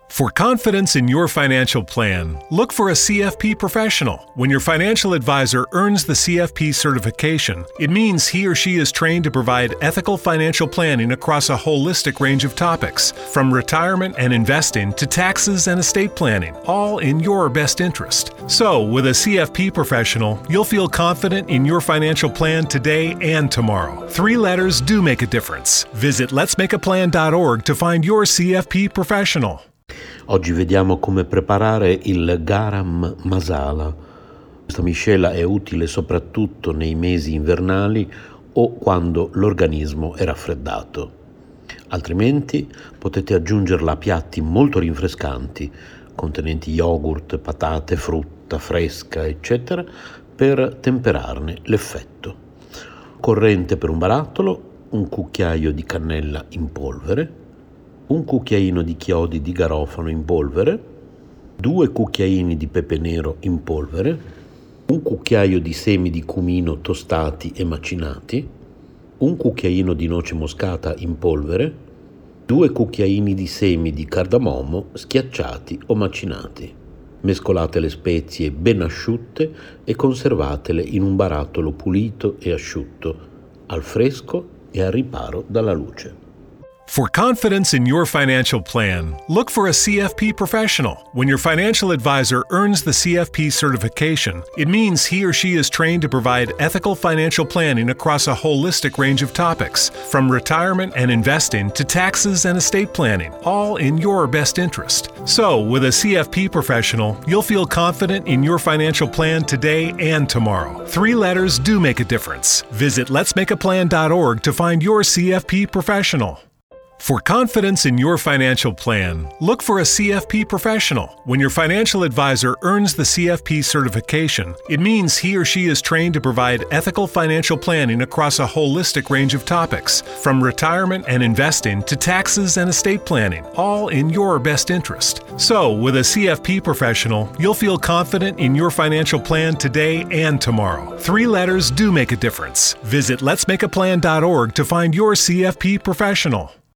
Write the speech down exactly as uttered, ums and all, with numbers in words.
For confidence in your financial plan, look for a C F P professional. When your financial advisor earns the C F P certification, it means he or she is trained to provide ethical financial planning across a holistic range of topics, from retirement and investing to taxes and estate planning, all in your best interest. So, with a C F P professional, you'll feel confident in your financial plan today and tomorrow. Three letters do make a difference. Visit lets make a plan dot org to find your C F P professional. Oggi vediamo come preparare il garam masala. Questa miscela è utile soprattutto nei mesi invernali o quando l'organismo è raffreddato. Altrimenti potete aggiungerla a piatti molto rinfrescanti, contenenti yogurt, patate, frutta fresca, eccetera, per temperarne l'effetto. Corrente per un barattolo, un cucchiaio di cannella in polvere, un cucchiaino di chiodi di garofano in polvere, due cucchiaini di pepe nero in polvere, un cucchiaio di semi di cumino tostati e macinati, un cucchiaino di noce moscata in polvere, due cucchiaini di semi di cardamomo schiacciati o macinati. Mescolate le spezie ben asciutte e conservatele in un barattolo pulito e asciutto, al fresco e al riparo dalla luce. For confidence in your financial plan, look for a C F P professional. When your financial advisor earns the C F P certification, it means he or she is trained to provide ethical financial planning across a holistic range of topics, from retirement and investing to taxes and estate planning, all in your best interest. So, with a C F P professional, you'll feel confident in your financial plan today and tomorrow. Three letters do make a difference. Visit lets make a plan dot org to find your C F P professional. For confidence in your financial plan, look for a C F P professional. When your financial advisor earns the C F P certification, it means he or she is trained to provide ethical financial planning across a holistic range of topics, from retirement and investing to taxes and estate planning, all in your best interest. So, with a C F P professional, you'll feel confident in your financial plan today and tomorrow. Three letters do make a difference. Visit lets make a plan dot org to find your C F P professional.